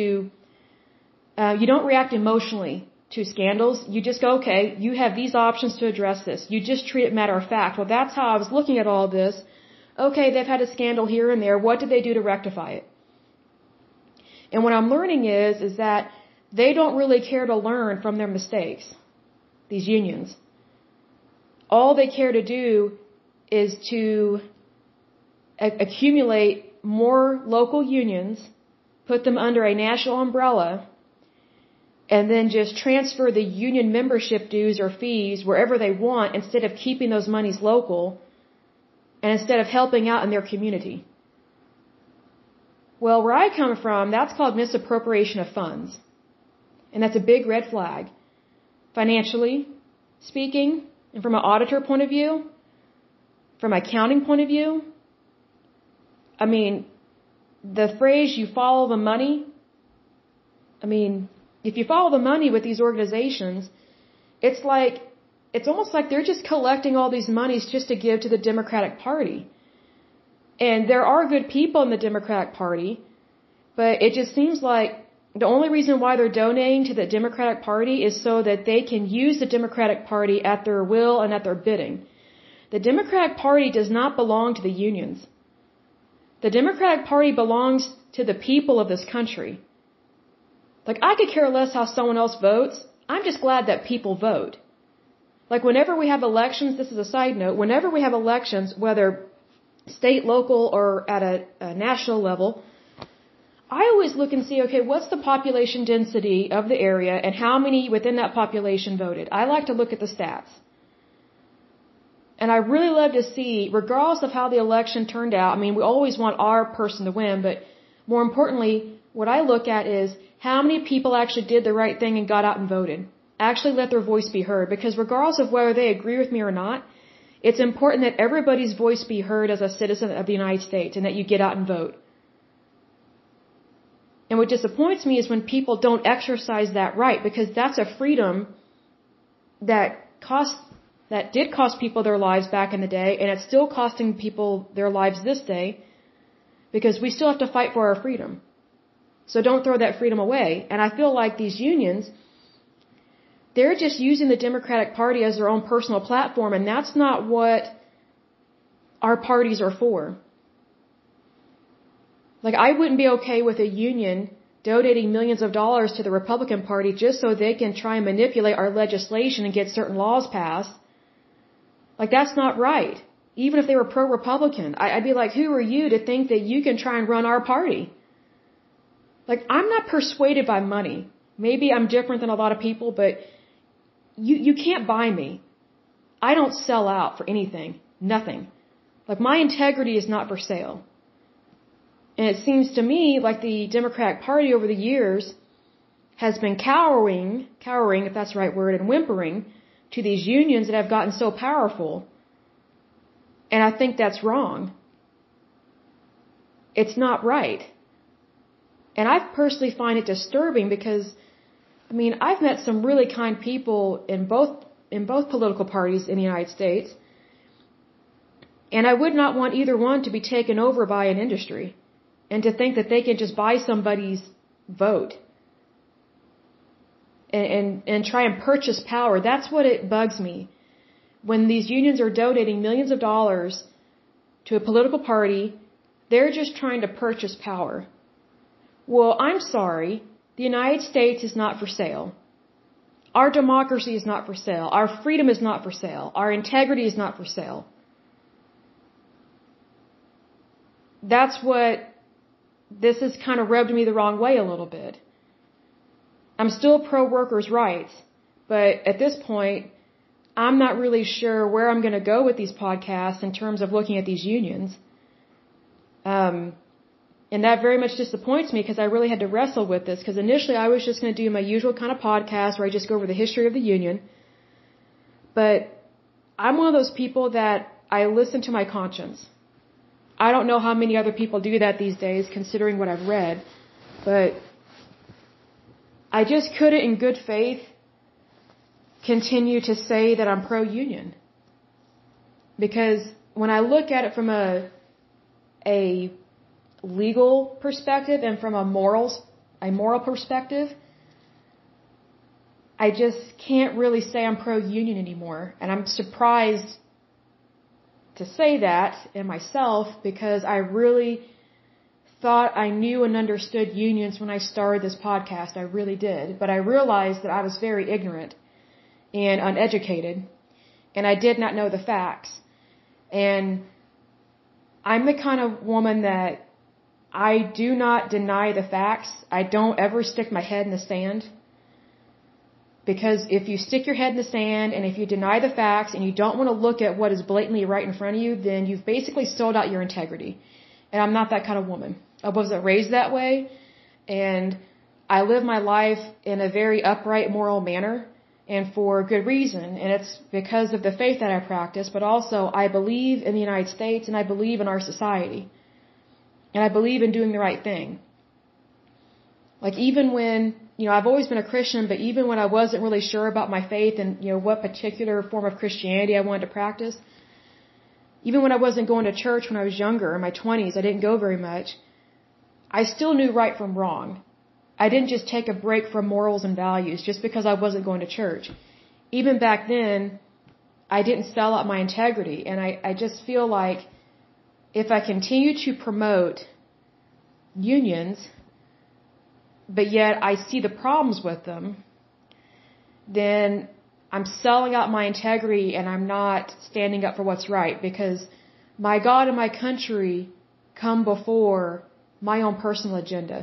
emotionally to scandals. You just go, okay, you have these options to address this. You just treat it matter of fact. Well, that's how I was looking at all this. Okay, they've had a scandal here and there. What did they do to rectify it? And what I'm learning is that they don't really care to learn from their mistakes, these unions. All they care to do is to accumulate more local unions, put them under a national umbrella, and then just transfer the union membership dues or fees wherever they want instead of keeping those monies local and instead of helping out in their community. Well, where I come from, that's called misappropriation of funds. And that's a big red flag. Financially speaking, and from an auditor point of view, from an accounting point of view, the phrase, you follow the money, I mean, if you follow the money with these organizations, it's almost like they're just collecting all these monies just to give to the Democratic Party. And there are good people in the Democratic Party, but it just seems like the only reason why they're donating to the Democratic Party is so that they can use the Democratic Party at their will and at their bidding. The Democratic Party does not belong to the unions. The Democratic Party belongs to the people of this country. Like, I could care less how someone else votes. I'm just glad that people vote. Like, whenever we have elections, this is a side note, whenever we have elections, whether state, local, or at a national level, I always look and see, okay, what's the population density of the area and how many within that population voted? I like to look at the stats. And I really love to see, regardless of how the election turned out, I mean, we always want our person to win, but more importantly, what I look at is how many people actually did the right thing and got out and voted. Actually let their voice be heard, because regardless of whether they agree with me or not, it's important that everybody's voice be heard as a citizen of the United States and that you get out and vote. And what disappoints me is when people don't exercise that right, because that's a freedom that did cost people their lives back in the day, and it's still costing people their lives this day, because we still have to fight for our freedom. So don't throw that freedom away. And I feel like these unions, they're just using the Democratic Party as their own personal platform, and that's not what our parties are for. Like, I wouldn't be okay with a union donating millions of dollars to the Republican Party just so they can try and manipulate our legislation and get certain laws passed. Like, that's not right. Even if they were pro-Republican, I'd be like, who are you to think that you can try and run our party? Like, I'm not persuaded by money. Maybe I'm different than a lot of people, but you can't buy me. I don't sell out for anything. Nothing. Like, my integrity is not for sale. And it seems to me like the Democratic Party over the years has been cowering, if that's the right word, and whimpering to these unions that have gotten so powerful. And I think that's wrong. It's not right. And I personally find it disturbing because, I mean, I've met some really kind people in both political parties in the United States. And I would not want either one to be taken over by an industry and to think that they can just buy somebody's vote and try and purchase power. That's what it bugs me. When these unions are donating millions of dollars to a political party, they're just trying to purchase power. Well, I'm sorry. The United States is not for sale. Our democracy is not for sale. Our freedom is not for sale. Our integrity is not for sale. That's what this has kind of rubbed me the wrong way a little bit. I'm still pro-workers' rights, but at this point, I'm not really sure where I'm going to go with these podcasts in terms of looking at these unions. And that very much disappoints me because I really had to wrestle with this, because initially I was just going to do my usual kind of podcast where I just go over the history of the union. But I'm one of those people that I listen to my conscience. I don't know how many other people do that these days, considering what I've read, but I just couldn't in good faith continue to say that I'm pro-union. Because when I look at it from a legal perspective and from a moral perspective, I just can't really say I'm pro-union anymore. And I'm surprised to say that in myself, because I really thought I knew and understood unions when I started this podcast. I really did. But I realized that I was very ignorant and uneducated, and I did not know the facts. And I'm the kind of woman that I do not deny the facts. I don't ever stick my head in the sand. Because if you stick your head in the sand and if you deny the facts and you don't want to look at what is blatantly right in front of you, then you've basically sold out your integrity. And I'm not that kind of woman. I wasn't raised that way. And I live my life in a very upright, moral manner, and for good reason. And it's because of the faith that I practice, but also I believe in the United States and I believe in our society. and I believe in doing the right thing. Like even when, I've always been a Christian, but even when I wasn't really sure about my faith and, what particular form of Christianity I wanted to practice, even when I wasn't going to church when I was younger, in my 20s, I didn't go very much, I still knew right from wrong. I didn't just take a break from morals and values just because I wasn't going to church. Even back then, I didn't sell out my integrity, and I just feel like if I continue to promote unions, but yet I see the problems with them, then I'm selling out my integrity and I'm not standing up for what's right, because my God and my country come before my own personal agenda.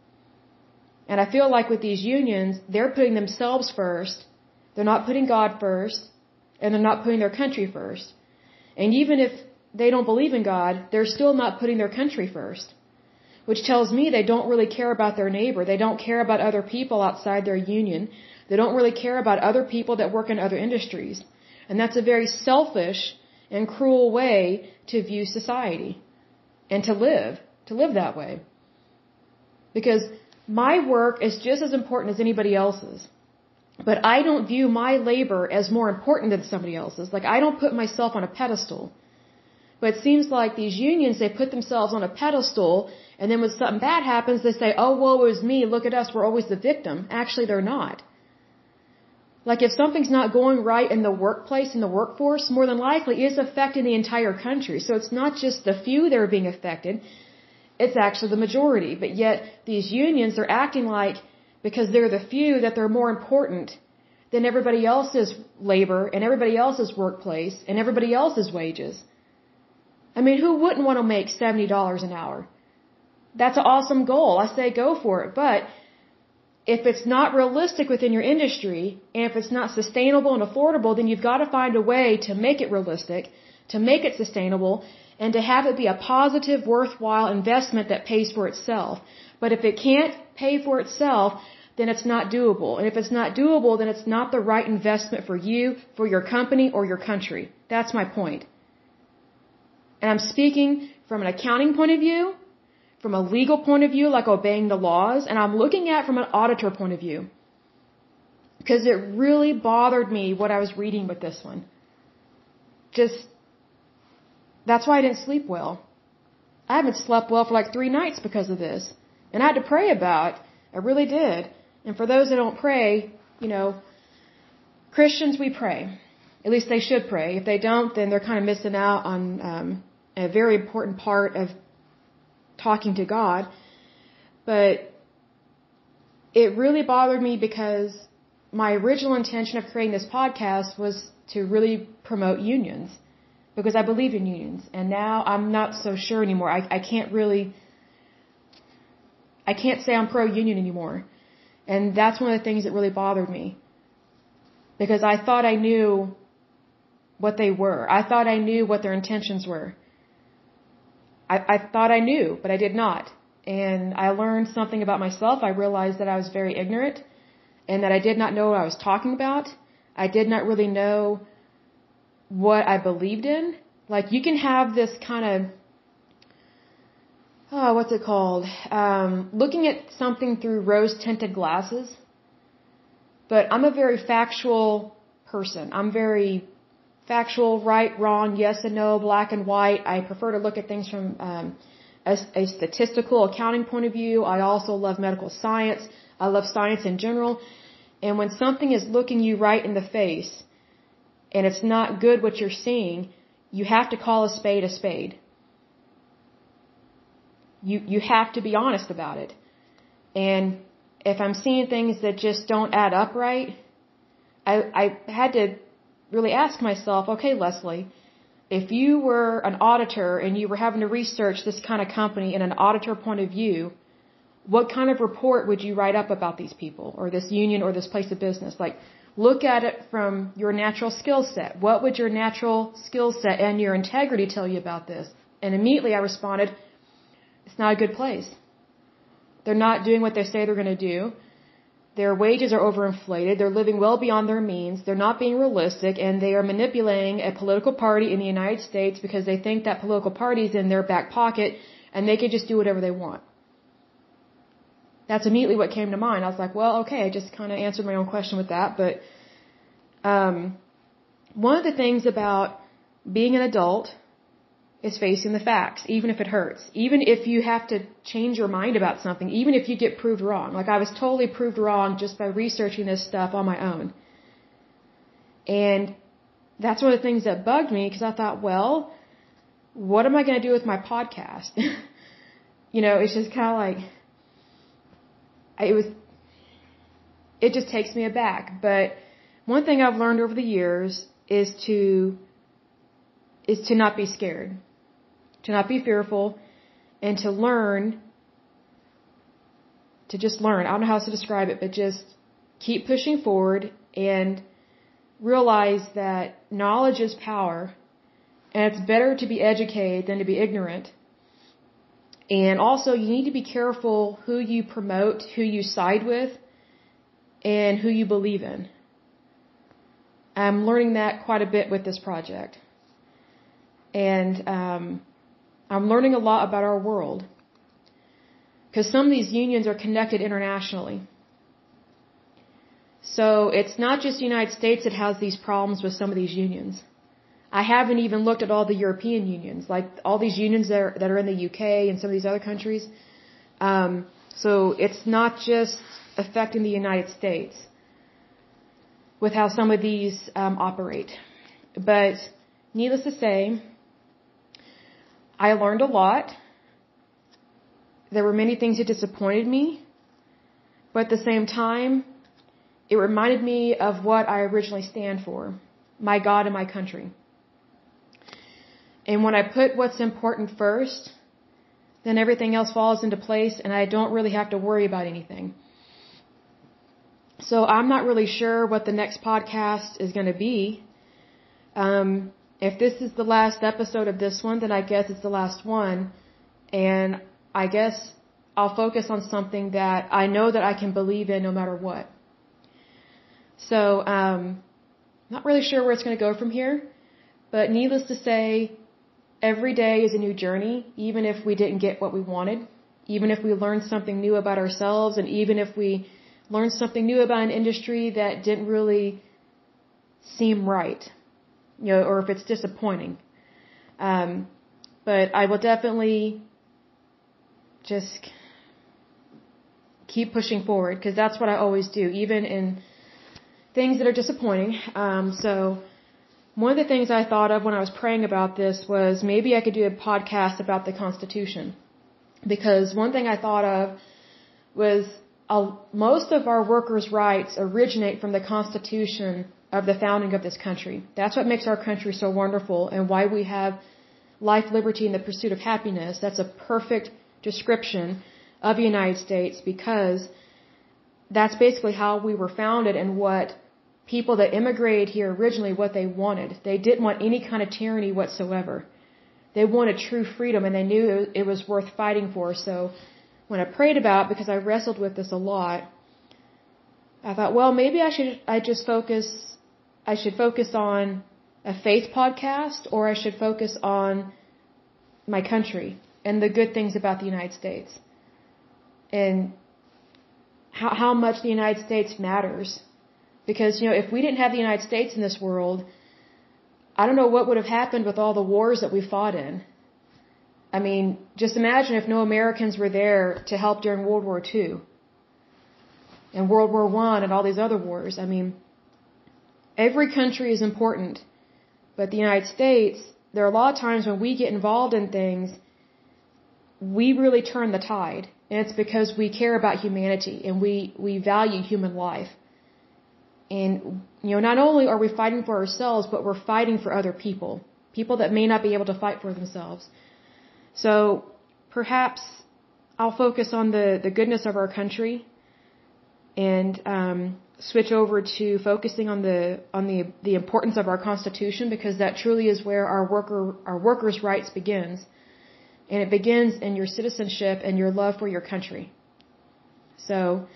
And I feel like with these unions, they're putting themselves first, they're not putting God first, and they're not putting their country first. And even if they don't believe in God, they're still not putting their country first. Which tells me they don't really care about their neighbor. They don't care about other people outside their union. They don't really care about other people that work in other industries. And that's a very selfish and cruel way to view society and to live that way. Because my work is just as important as anybody else's. But I don't view my labor as more important than somebody else's. Like, I don't put myself on a pedestal. But it seems like these unions, they put themselves on a pedestal, and then when something bad happens, they say, oh, woe is me, look at us, we're always the victim. Actually, they're not. Like, if something's not going right in the workplace, in the workforce, more than likely it's affecting the entire country. So it's not just the few that are being affected, it's actually the majority. But yet, these unions are acting like, because they're the few, that they're more important than everybody else's labor and everybody else's workplace and everybody else's wages. I mean, who wouldn't want to make $70 an hour? That's an awesome goal. I say go for it. But if it's not realistic within your industry, and if it's not sustainable and affordable, then you've got to find a way to make it realistic, to make it sustainable, and to have it be a positive, worthwhile investment that pays for itself. But if it can't pay for itself, then it's not doable. And if it's not doable, then it's not the right investment for you, for your company, or your country. That's my point. And I'm speaking from an accounting point of view, from a legal point of view, like obeying the laws, and I'm looking at it from an auditor point of view. Because it really bothered me what I was reading with this one. That's why I didn't sleep well. I haven't slept well for like 3 nights because of this. And I had to pray about it. I really did. And for those that don't pray, Christians, we pray. At least they should pray. If they don't, then they're kind of missing out on a very important part of talking to God. But it really bothered me because my original intention of creating this podcast was to really promote unions, because I believe in unions. And now I'm not so sure anymore. I can't say I'm pro-union anymore. And that's one of the things that really bothered me. Because I thought I knew what they were. I thought I knew what their intentions were. I thought I knew, but I did not. And I learned something about myself. I realized that I was very ignorant and that I did not know what I was talking about. I did not really know what I believed in. Like, you can have this kind of, what's it called? Looking at something through rose-tinted glasses. But I'm a very factual person. I'm very factual, right, wrong, yes and no, black and white. I prefer to look at things from a statistical, accounting point of view. I also love medical science. I love science in general. And when something is looking you right in the face and it's not good what you're seeing, you have to call a spade a spade. You have to be honest about it. And if I'm seeing things that just don't add up right, I had to really ask myself, okay, Leslie, if you were an auditor and you were having to research this kind of company in an auditor point of view, what kind of report would you write up about these people or this union or this place of business? Like, look at it from your natural skill set. What would your natural skill set and your integrity tell you about this? And immediately I responded, it's not a good place. They're not doing what they say they're going to do. Their wages are overinflated. They're living well beyond their means. They're not being realistic, and they are manipulating a political party in the United States because they think that political party is in their back pocket, and they could just do whatever they want. That's immediately what came to mind. I was like, well, okay, I just kind of answered my own question with that. But one of the things about being an adult is facing the facts, even if it hurts. Even if you have to change your mind about something, even if you get proved wrong. Like I was totally proved wrong just by researching this stuff on my own. And that's one of the things that bugged me because I thought, well, what am I going to do with my podcast? It's just kind of like, it just takes me aback. But one thing I've learned over the years is to not be scared, to not be fearful, and to learn, to just learn. I don't know how else to describe it, but just keep pushing forward and realize that knowledge is power, and it's better to be educated than to be ignorant. And also, you need to be careful who you promote, who you side with, and who you believe in. I'm learning that quite a bit with this project. And I'm learning a lot about our world. Because some of these unions are connected internationally. So it's not just the United States that has these problems with some of these unions. I haven't even looked at all the European unions, like all these unions that are in the UK and some of these other countries. So it's not just affecting the United States with how some of these operate. But needless to say, I learned a lot. There were many things that disappointed me, but at the same time, it reminded me of what I originally stand for, my God and my country. And when I put what's important first, then everything else falls into place and I don't really have to worry about anything. So I'm not really sure what the next podcast is going to be. If this is the last episode of this one, then I guess it's the last one. And I guess I'll focus on something that I know that I can believe in no matter what. So, not really sure where it's going to go from here. But needless to say, every day is a new journey, even if we didn't get what we wanted, even if we learned something new about ourselves, and even if we learned something new about an industry that didn't really seem right, or if it's disappointing. But I will definitely just keep pushing forward, because that's what I always do, even in things that are disappointing. So one of the things I thought of when I was praying about this was maybe I could do a podcast about the Constitution. Because one thing I thought of was most of our workers' rights originate from the Constitution of the founding of this country. That's what makes our country so wonderful and why we have life, liberty, and the pursuit of happiness. That's a perfect description of the United States, because that's basically how we were founded and what people that immigrated here originally, what they wanted. They didn't want any kind of tyranny whatsoever. They wanted true freedom, and they knew it was worth fighting for. So when I prayed about it, because I wrestled with this a lot, I thought, well, maybe I should focus on a faith podcast, or I should focus on my country and the good things about the United States and how much the United States matters. Because, if we didn't have the United States in this world, I don't know what would have happened with all the wars that we fought in. I mean, just imagine if no Americans were there to help during World War II and World War I and all these other wars. I mean, every country is important, but the United States, there are a lot of times when we get involved in things, we really turn the tide. And it's because we care about humanity and we value human life. And, not only are we fighting for ourselves, but we're fighting for other people that may not be able to fight for themselves. So perhaps I'll focus on the goodness of our country and switch over to focusing on the importance of our Constitution, because that truly is where our workers' rights begins. And it begins in your citizenship and your love for your country. So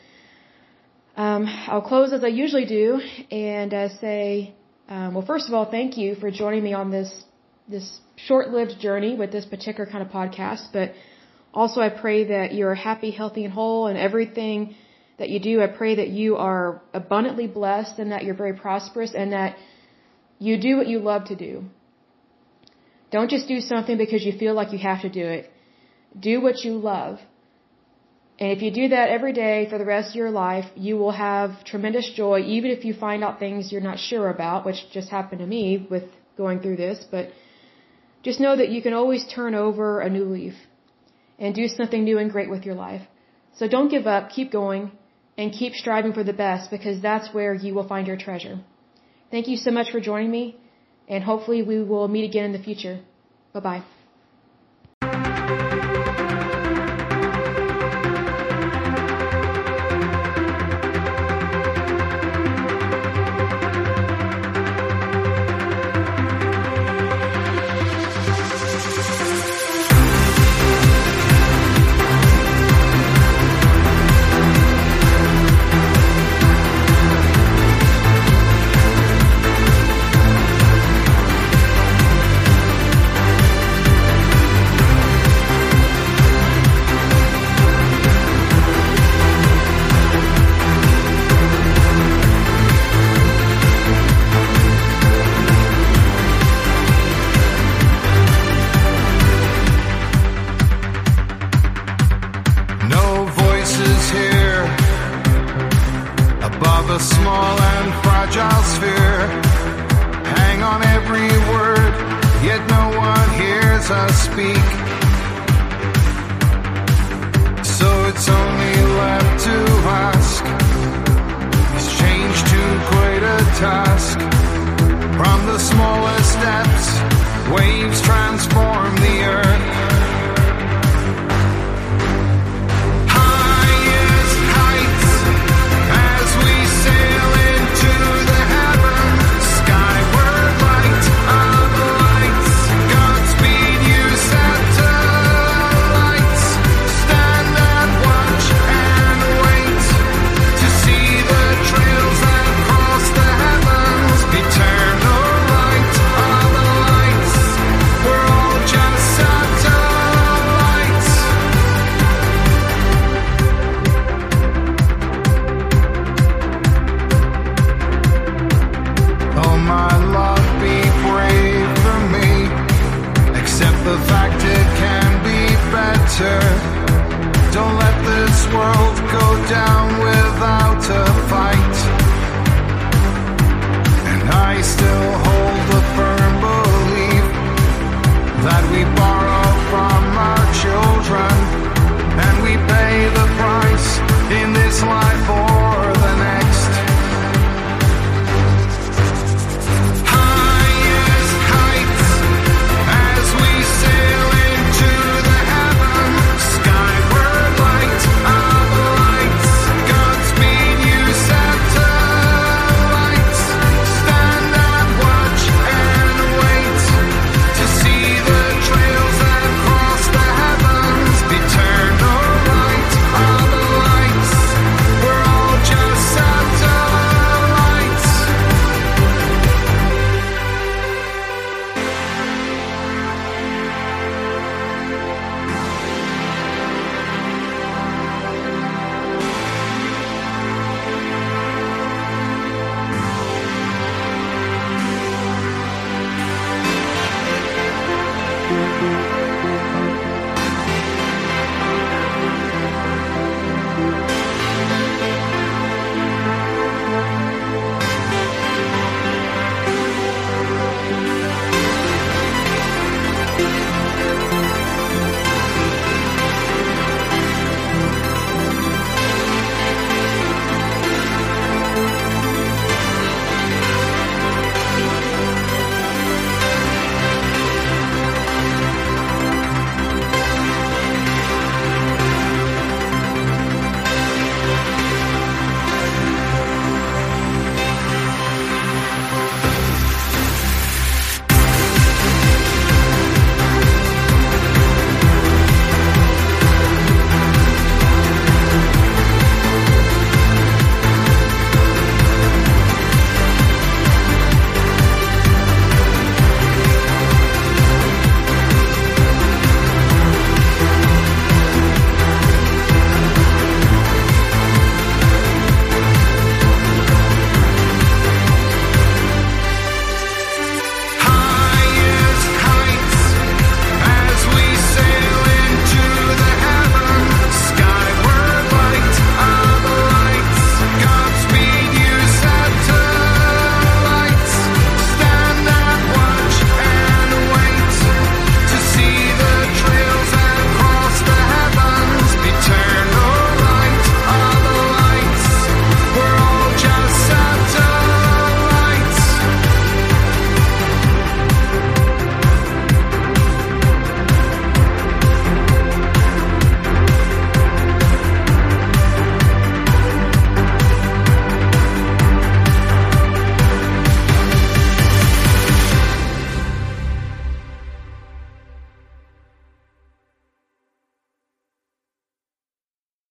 I'll close as I usually do and say, well, first of all, thank you for joining me on this short-lived journey with this particular kind of podcast. But Also, I pray that you're happy, healthy, and whole, and everything that you do, I pray that you are abundantly blessed and that you're very prosperous and that you do what you love to do. Don't just do something because you feel like you have to do it. Do what you love. And if you do that every day for the rest of your life, you will have tremendous joy, even if you find out things you're not sure about, which just happened to me with going through this. But just know that you can always turn over a new leaf and do something new and great with your life. So don't give up, keep going, and keep striving for the best, because that's where you will find your treasure. Thank you so much for joining me, and hopefully we will meet again in the future. Bye-bye. Above a small and fragile sphere, hang on every word, yet no one hears us speak.